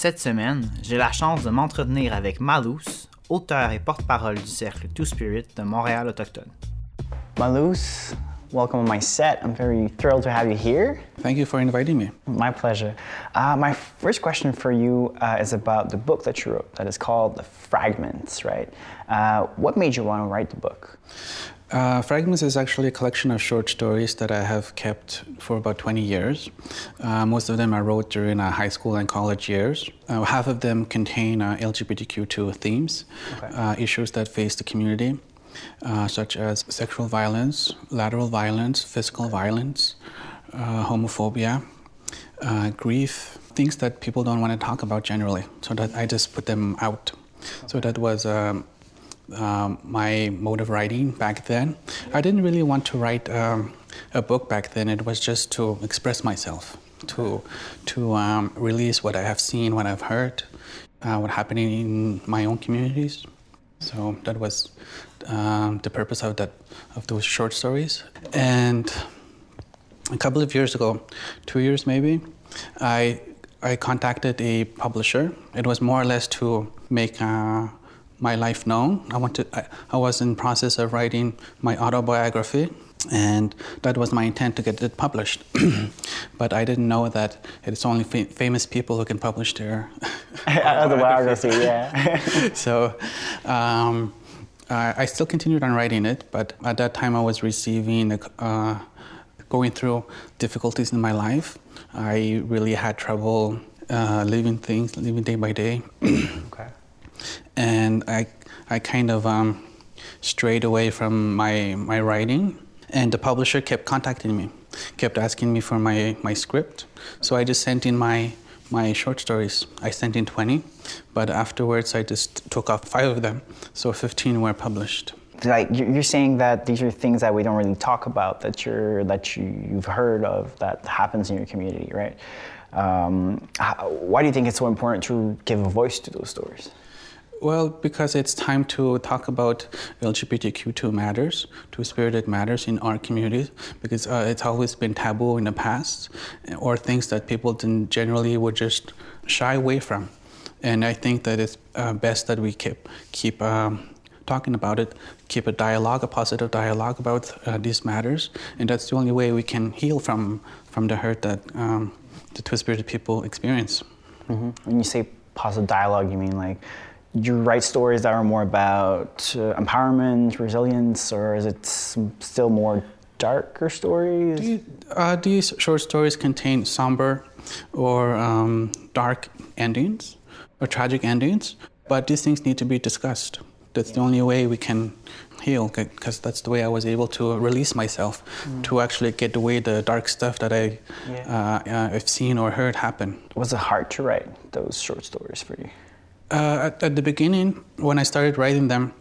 Cette semaine, j'ai la chance de m'entretenir avec Maloose, auteur et porte-parole du cercle Two Spirit de Montréal autochtone. Maloose, welcome on my set. I'm very thrilled to have you here. Thank you for inviting me. My pleasure. My first question for you is about the book that you wrote that is called The Fragments, right? What made you want to write the book? Fragments is actually a collection of short stories that I have kept for about 20 years. Most of them I wrote during high school and college years. Half of them contain LGBTQ2 themes, okay. Issues that face the community, such as sexual violence, lateral violence, physical violence, homophobia, grief, things that people don't want to talk about generally. So that I just put them out. Okay. So that was my mode of writing back then. I didn't really want to write a book back then. It was just to express myself, to release what I have seen, what I've heard, what's happening in my own communities. So that was the purpose of those short stories. And a couple of years ago, 2 years maybe, I contacted a publisher. It was more or less to make my life known. I was in process of writing my autobiography, and that was my intent to get it published. But I didn't know that it's only famous people who can publish their autobiography. Yeah. So I still continued on writing it, but at that time I was going through difficulties in my life. I really had trouble living day by day. Okay. And I kind of strayed away from my writing, and the publisher kept contacting me, kept asking me for my script. So I just sent in my short stories. I sent in 20, but afterwards I just took off 5 of them, so 15 were published. Like you're saying that these are things that we don't really talk about, that you've heard of, that happens in your community, right? Why do you think it's so important to give a voice to those stories? Well, because it's time to talk about LGBTQ2 matters, two-spirited matters in our communities, because it's always been taboo in the past, or things that people generally would just shy away from. And I think that it's best that we keep talking about it, keep a positive dialogue about these matters, and that's the only way we can heal from the hurt that the two-spirited people experience. Mm-hmm. When you say positive dialogue, you mean like you write stories that are more about empowerment, resilience, or is it still more darker stories? These short stories contain somber or dark endings or tragic endings, but these things need to be discussed. That's the only way we can heal, because that's the way I was able to release myself, to actually get away the dark stuff that I've seen or heard happen. Was it hard to write those short stories for you? At the beginning, when I started writing them,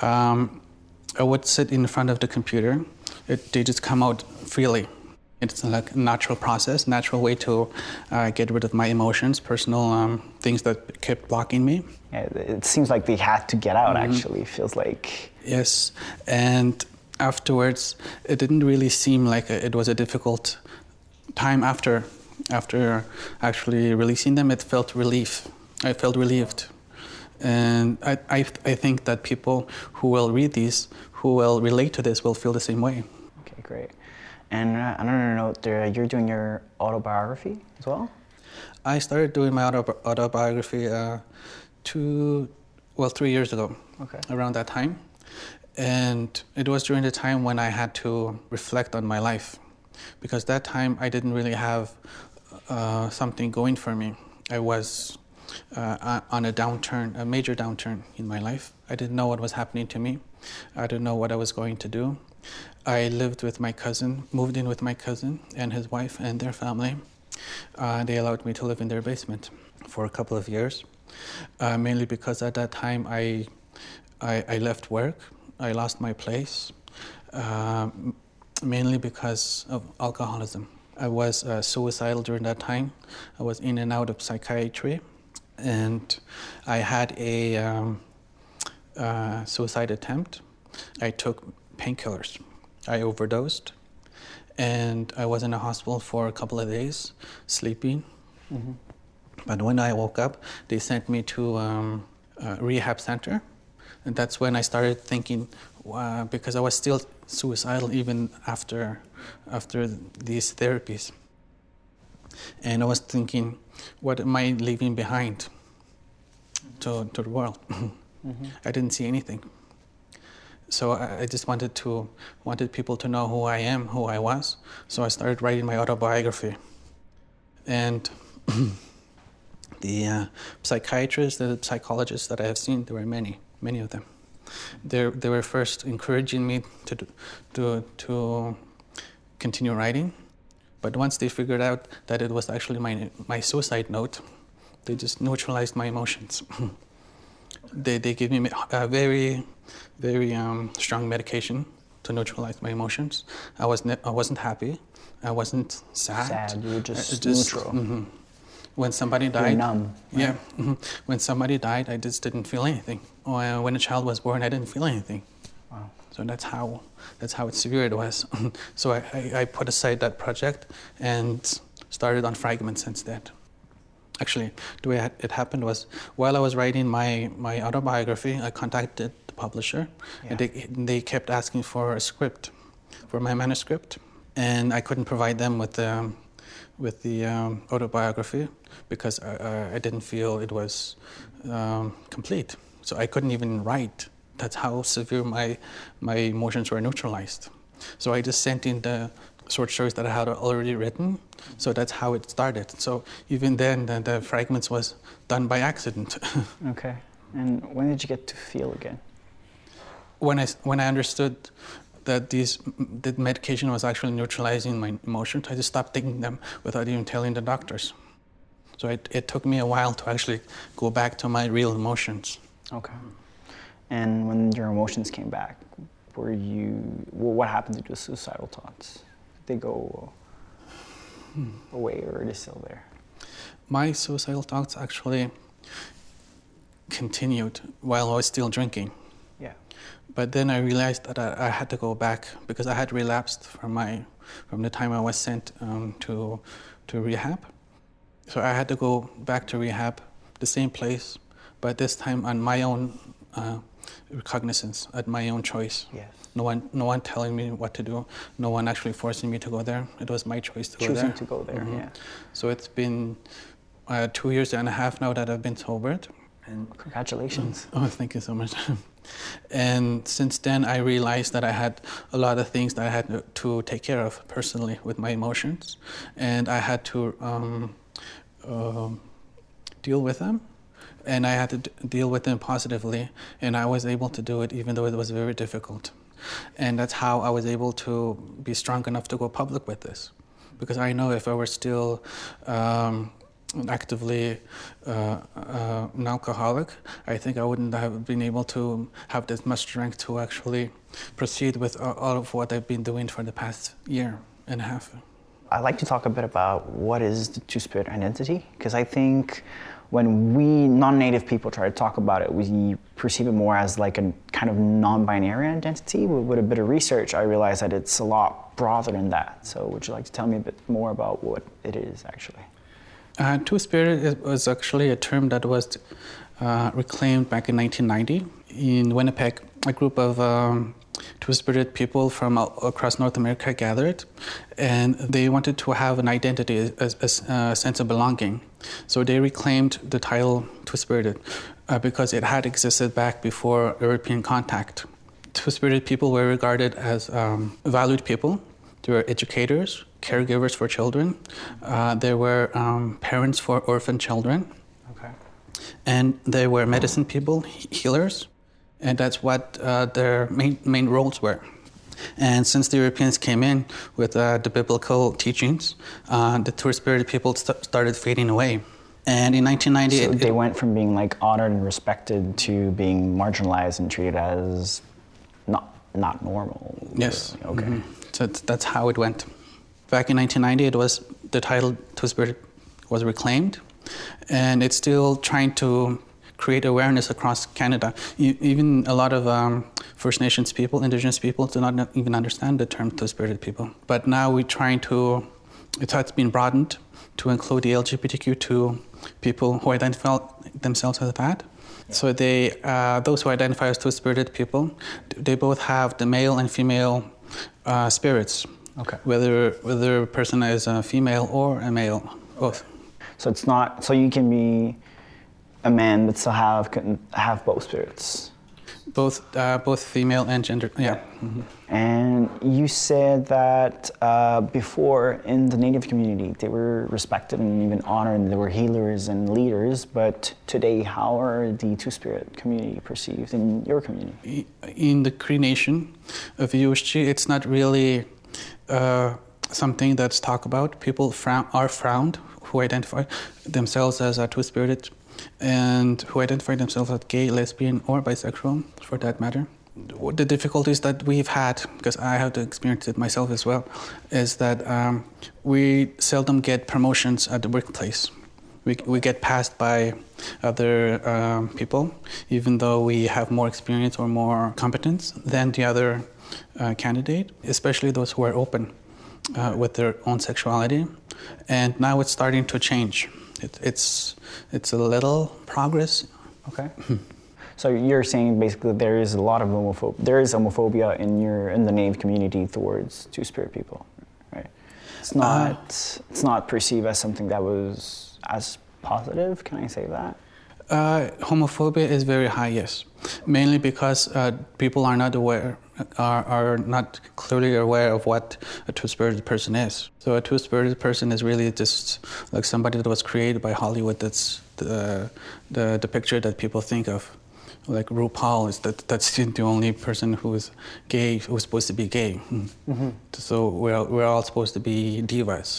I would sit in front of the computer. They just come out freely. It's like a natural process, natural way to get rid of my emotions, personal things that kept blocking me. Yeah, it seems like they had to get out, actually. It feels like... Yes, and afterwards, it didn't really seem like it was a difficult time after actually releasing them. It felt relief. I felt relieved. And I think that people who will read these, who will relate to this, will feel the same way. Okay, great. And on another note, you're doing your autobiography as well? I started doing my autobiography 3 years ago, around that time. And it was during the time when I had to reflect on my life, because that time I didn't really have something going for me. I was on a major downturn in my life. I didn't know what was happening to me. I didn't know what I was going to do. I lived with my cousin, moved in with my cousin and his wife and their family. They allowed me to live in their basement for a couple of years, mainly because at that time I left work. I lost my place, mainly because of alcoholism. I was suicidal during that time. I was in and out of psychiatry, and I had a suicide attempt. I took painkillers. I overdosed, and I was in a hospital for a couple of days, sleeping. But when I woke up, they sent me to a rehab center. And that's when I started thinking, because I was still suicidal even after these therapies. And I was thinking, what am I leaving behind to the world? I didn't see anything. So I just wanted people to know who I am, who I was. So I started writing my autobiography. And the psychiatrists, the psychologists that I have seen, there were many of them. They were first encouraging me to continue writing, but once they figured out that it was actually my suicide note, they just neutralized my emotions. They gave me a very strong medication to neutralize my emotions. I wasn't happy. I wasn't sad. You were just neutral. When somebody died, you're numb. Right? Yeah. When somebody died, I just didn't feel anything. When a child was born, I didn't feel anything. Wow. So that's how severe it was. So I put aside that project and started on Fragments instead. Actually, the way it happened was, while I was writing my autobiography, I contacted the publisher, and they kept asking for a script, for my manuscript, and I couldn't provide them with the autobiography because I didn't feel it was complete. So I couldn't even write. That's how severe my emotions were neutralized. So I just sent in the short stories that I had already written. So that's how it started. So even then, the Fragments was done by accident. Okay. And when did you get to feel again? When I understood that the medication was actually neutralizing my emotions, I just stopped taking them without even telling the doctors. So it took me a while to actually go back to my real emotions. Okay. And when your emotions came back, what happened to the suicidal thoughts? Did they go away, or are they still there? My suicidal thoughts actually continued while I was still drinking. Yeah. But then I realized that I had to go back because I had relapsed from the time I was sent to rehab. So I had to go back to rehab, the same place, but this time on my own recognizance, at my own choice. Yes. No one telling me what to do. No one actually forcing me to go there. It was my choice to go there. Choosing to go there. Yeah. So it's been 2 years and a half now that I've been sobered. And congratulations. Oh, thank you so much. And since then, I realized that I had a lot of things that I had to take care of personally with my emotions, and I had to deal with them, and I had to deal with them positively, and I was able to do it even though it was very difficult. And that's how I was able to be strong enough to go public with this, because I know if I were still actively an alcoholic, I think I wouldn't have been able to have this much strength to actually proceed with all of what I've been doing for the past year and a half. I'd like to talk a bit about what is the Two-Spirit identity, because I think when we non-native people try to talk about it, we perceive it more as like a kind of non-binary identity. With a bit of research, I realized that it's a lot broader than that. So would you like to tell me a bit more about what it is actually? Two-Spirit was actually a term that was reclaimed back in 1990 in Winnipeg. A group of Two-Spirit people from across North America gathered, and they wanted to have an identity, a sense of belonging. So they reclaimed the title Two-Spirited because it had existed back before European contact. Two-Spirited people were regarded as valued people. They were educators, caregivers for children. There were parents for orphan children. Okay. And they were medicine people, healers. And that's what their main roles were. And since the Europeans came in with the biblical teachings, the Two-Spirited people started fading away. And in 1990... So they went from being like honored and respected to being marginalized and treated as not normal. Yes. Okay. Mm-hmm. So that's how it went. Back in 1990, the title Two-Spirit was reclaimed, and it's still trying to create awareness across Canada. Even a lot of First Nations people, Indigenous people, do not even understand the term Two-Spirited people. But now we're trying to It's been broadened to include the LGBTQ2 people who identify themselves as that. Yeah. So those who identify as two-spirited people, they both have the male and female spirits. Okay. Whether a person is a female or a male, both. So it's not. So you can be a man but still have both spirits. Both female and gender. Yeah. Mm-hmm. And you said that before in the Native community they were respected and even honored, and they were healers and leaders. But today, how are the Two-Spirit community perceived in your community? In the Cree Nation of USG, it's not really something that's talked about. People are frowned who identify themselves as a two-spirited and who identify themselves as gay, lesbian, or bisexual, for that matter. The difficulties that we've had, because I have to experience it myself as well, is that we seldom get promotions at the workplace. We get passed by other people, even though we have more experience or more competence than the other candidate, especially those who are open with their own sexuality. And now it's starting to change. It's a little progress. Okay. So you're saying basically there is a lot of homophobia in the Native community towards Two-Spirit people, right? It's not perceived as something that was as positive. Can I say that? Homophobia is very high, yes. Mainly because people are not aware, are not clearly aware of what a two-spirited person is. So a two-spirited person is really just like somebody that was created by Hollywood. That's the picture that people think of. Like RuPaul that's the only person who is gay, who's supposed to be gay. Mm-hmm. So we're all supposed to be divas,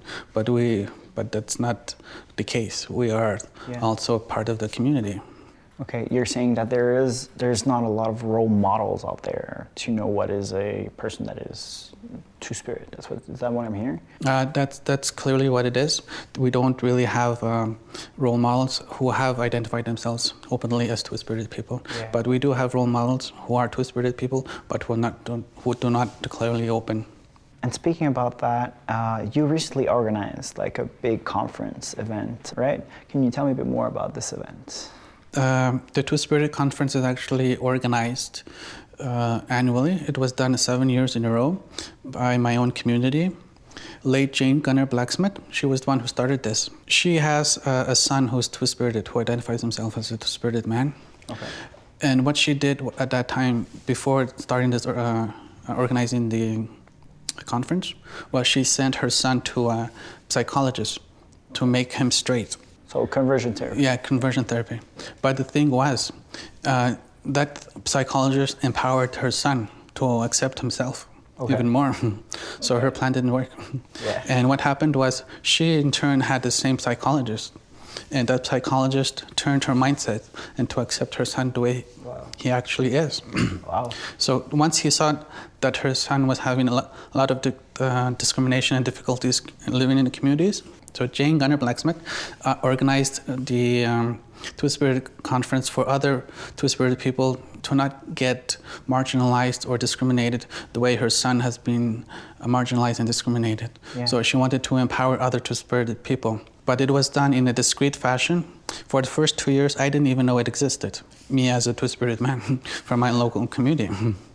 but that's not the case. We are also part of the community. Okay, you're saying that there's not a lot of role models out there to know what is a person that is two-spirit. Is that what I'm hearing? That's clearly what it is. We don't really have role models who have identified themselves openly as two-spirited people. Yeah. But we do have role models who are two-spirited people, but who do not clearly open. And speaking about that, you recently organized like a big conference event, right? Can you tell me a bit more about this event? The Two-Spirited Conference is actually organized annually. It was done 7 years in a row by my own community. Late Jane Gunner Blacksmith, she was the one who started this. She has a son who's two-spirited, who identifies himself as a two-spirited man. Okay. And what she did at that time, before starting this, organizing the conference, was she sent her son to a psychologist to make him straight. So conversion therapy. Yeah, conversion therapy. But the thing was, that psychologist empowered her son to accept himself even more. So her plan didn't work. Yeah. And what happened was, she in turn had the same psychologist. And that psychologist turned her mindset and to accept her son the way he actually is. Wow. So once he saw that her son was having a lot of discrimination and difficulties living in the communities, so Jane Gunner Blacksmith organized the Two-Spirited Conference for other Two-Spirited people to not get marginalized or discriminated the way her son has been marginalized and discriminated. Yeah. So she wanted to empower other Two-Spirited people. But it was done in a discreet fashion. For the first 2 years, I didn't even know it existed, me as a Two-Spirited man from my local community.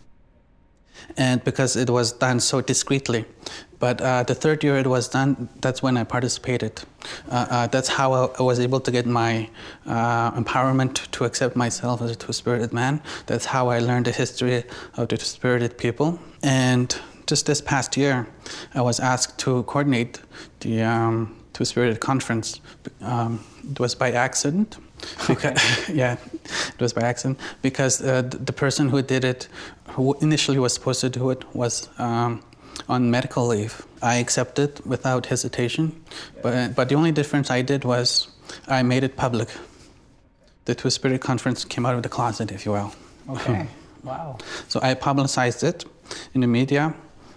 And because it was done so discreetly. But the third year it was done, that's when I participated. That's how I was able to get my empowerment to accept myself as a two-spirited man. That's how I learned the history of the two-spirited people. And just this past year, I was asked to coordinate the Two-Spirited Conference. It was by accident. Because, yeah, it was by accident. Because the person who did it, who initially was supposed to do it, was on medical leave. I accepted without hesitation, but the only difference I did was I made it public. The Two-Spirited Conference came out of the closet, if you will. Okay, wow. So I publicized it in the media.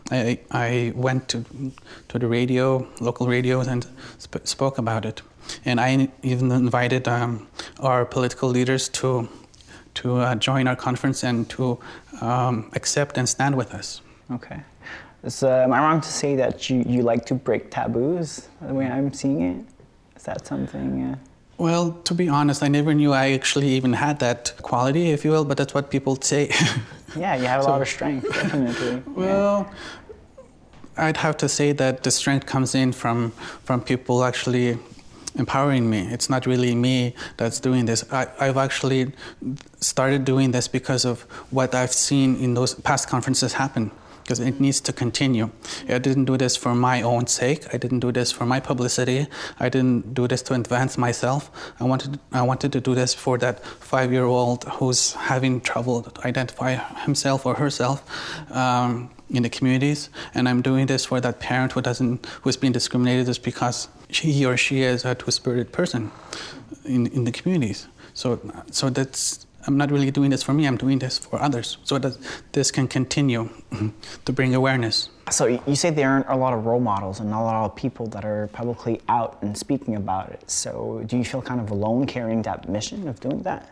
I went to the radio, local radios, and spoke about it. And I even invited our political leaders to join our conference and to accept and stand with us. Okay. So, am I wrong to say that you like to break taboos, the way I'm seeing it? Is that something? Well, to be honest, I never knew I actually even had that quality, if you will, but that's what people say. Yeah, you have a lot of strength, definitely. Well, I'd have to say that the strength comes in from people actually empowering me. It's not really me that's doing this. I've actually started doing this because of what I've seen in those past conferences happen, because it needs to continue. I didn't do this for my own sake. I didn't do this for my publicity. I didn't do this to advance myself. I wanted to do this for that 5-year-old who's having trouble to identify himself or herself in the communities, and I'm doing this for that parent who's being discriminated just because he or she is a two-spirited person in the communities. So that's, I'm not really doing this for me, I'm doing this for others, so that this can continue to bring awareness. So you say there aren't a lot of role models and not a lot of people that are publicly out and speaking about it. So do you feel kind of alone carrying that mission of doing that?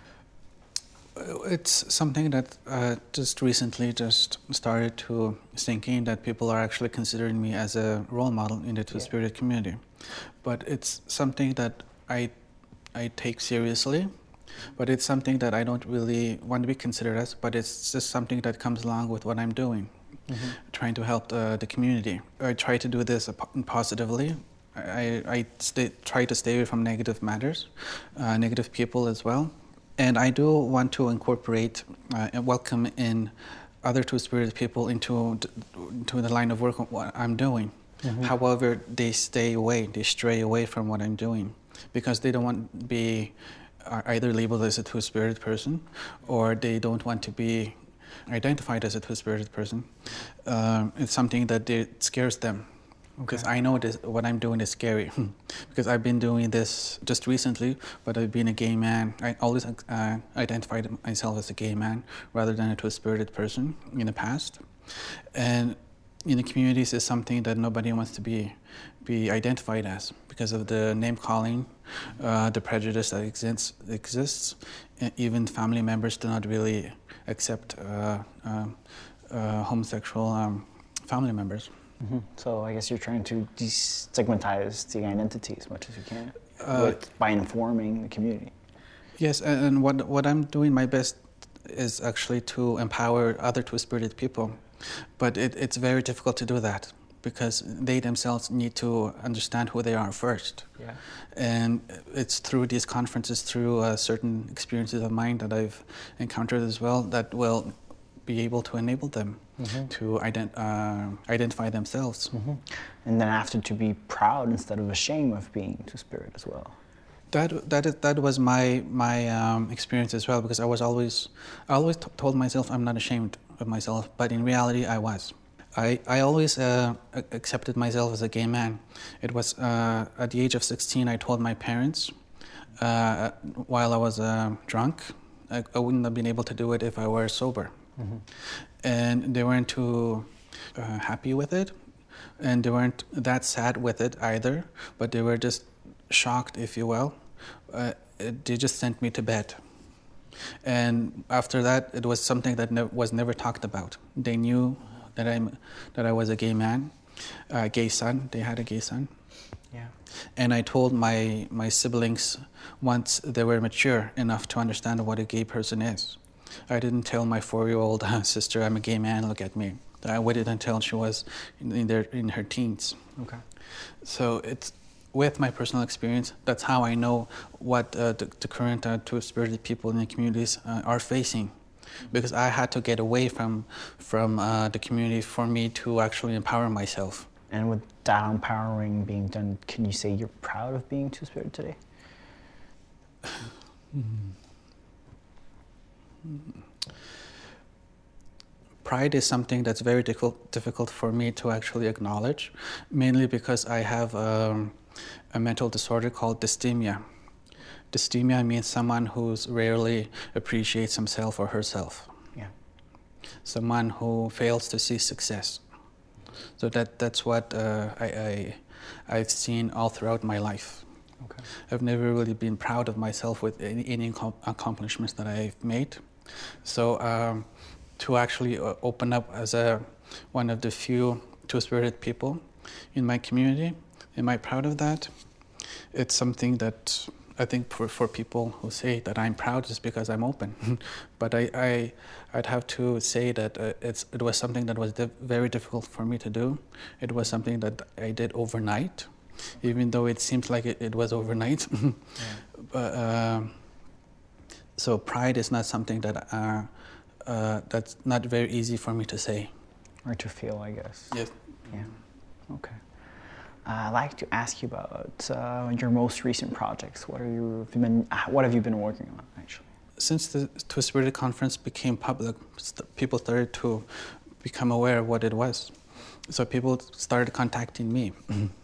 It's something that just recently started to sink in, that people are actually considering me as a role model in the two-spirited community. But it's something that I take seriously, but it's something that I don't really want to be considered as, but it's just something that comes along with what I'm doing, trying to help the community. I try to do this positively. I try to stay away from negative matters, negative people as well. And I do want to incorporate and welcome in other two-spirited people into the line of work of what I'm doing. However, they stray away from what I'm doing, because they don't want to be either labeled as a two-spirited person, or they don't want to be identified as a two-spirited person. It's something that scares them. Because I know what I'm doing is scary. Because I've been doing this just recently, but I've been a gay man. I always identified myself as a gay man rather than a two-spirited person in the past. And in the communities is something that nobody wants to be identified as, because of the name calling, the prejudice that exists. Even family members do not really accept homosexual family members. So I guess you're trying to destigmatize the identity as much as you can by informing the community. Yes, and what I'm doing my best is actually to empower other two-spirited people. But it's very difficult to do that, because they themselves need to understand who they are first. Yeah. And it's through these conferences, through certain experiences of mine that I've encountered as well, that will be able to enable them to identify themselves. And then after to be proud instead of ashamed of being two-spirit as well. That was my experience as well, because I always told myself I'm not ashamed of myself, but in reality I was. I always accepted myself as a gay man. It was at the age of 16 I told my parents while I was drunk. I wouldn't have been able to do it if I were sober. And they weren't too happy with it, and they weren't that sad with it either, but they were just shocked, if you will. They just sent me to bed. And after that, it was something that was never talked about. They knew that I was a gay man, a gay son. They had a gay son. Yeah. And I told my siblings once they were mature enough to understand what a gay person is. I didn't tell my 4-year-old sister, I'm a gay man, look at me. I waited until she was in her teens. Okay. So it's with my personal experience, that's how I know what the current two-spirited people in the communities are facing. Because I had to get away from the community for me to actually empower myself. And with that empowering being done, can you say you're proud of being two-spirited today? Pride is something that's very difficult for me to actually acknowledge, mainly because I have a mental disorder called dysthymia. Dysthymia means someone who rarely appreciates himself or herself. Yeah. Someone who fails to see success. So that's what I've seen all throughout my life. Okay. I've never really been proud of myself with any accomplishments that I've made. So to actually open up as one of the few two-spirited people in my community. Am I proud of that? It's something that I think for people who say that I'm proud is because I'm open. But I'd have to say that it was something that was very difficult for me to do. It was something that I did overnight, even though it seems like it was overnight. But, so pride is not something that that's not very easy for me to say. Or to feel, I guess. Yes. Yeah. Okay. I'd like to ask you about your most recent projects. What have you been working on, actually? Since the Two-Spirited Conference became public, people started to become aware of what it was. So people started contacting me.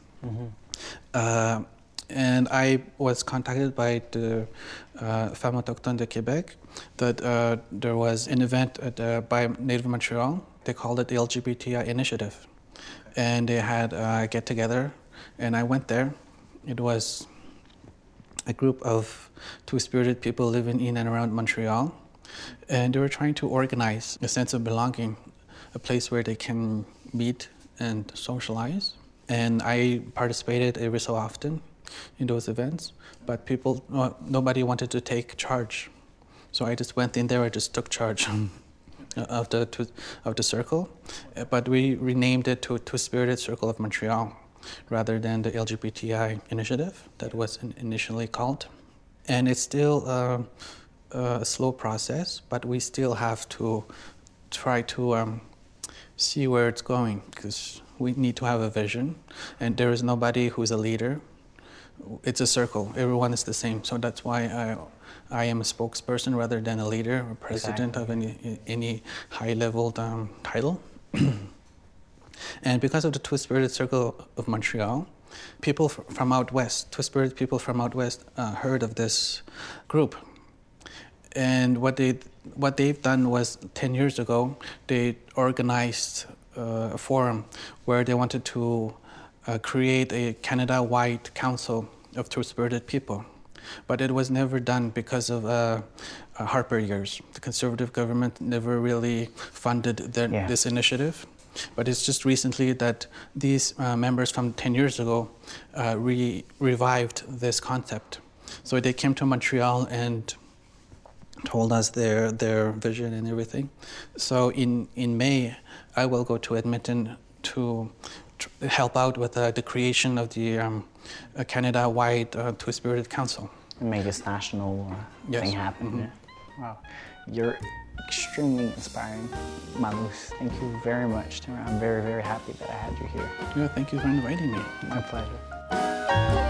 And I was contacted by the Femmes Autochtones de Québec that there was an event by Native Montreal. They called it the LGBTI Initiative. And they had a get-together, and I went there. It was a group of two-spirited people living in and around Montreal, and they were trying to organize a sense of belonging, a place where they can meet and socialize. And I participated every so often in those events, but nobody wanted to take charge. So I just went in there, I just took charge of the circle, but we renamed it to Two-Spirited Circle of Montreal rather than the LGBTI initiative that was initially called. And it's still a slow process, but we still have to try to see where it's going, because we need to have a vision, and there is nobody who's a leader. It's a circle. Everyone is the same. So that's why I am a spokesperson rather than a leader or president of any high-level title. And because of the Two-Spirited Circle of Montreal, people from out west, Two-Spirited people from out west, heard of this group. And what they've done was 10 years ago, they organized a forum where they wanted to create a Canada-wide council of two-spirited people. But it was never done because of Harper years. The Conservative government never really funded this initiative. But it's just recently that these members from 10 years ago revived this concept. So they came to Montreal and told us their vision and everything. So in May, I will go to Edmonton to help out with the creation of the Canada-wide Two-Spirited Council. Make this national thing happen. Yeah. Wow. You're extremely inspiring, Malus. Thank you very much, Tim. I'm very, very happy that I had you here. Yeah, thank you for inviting me. My pleasure.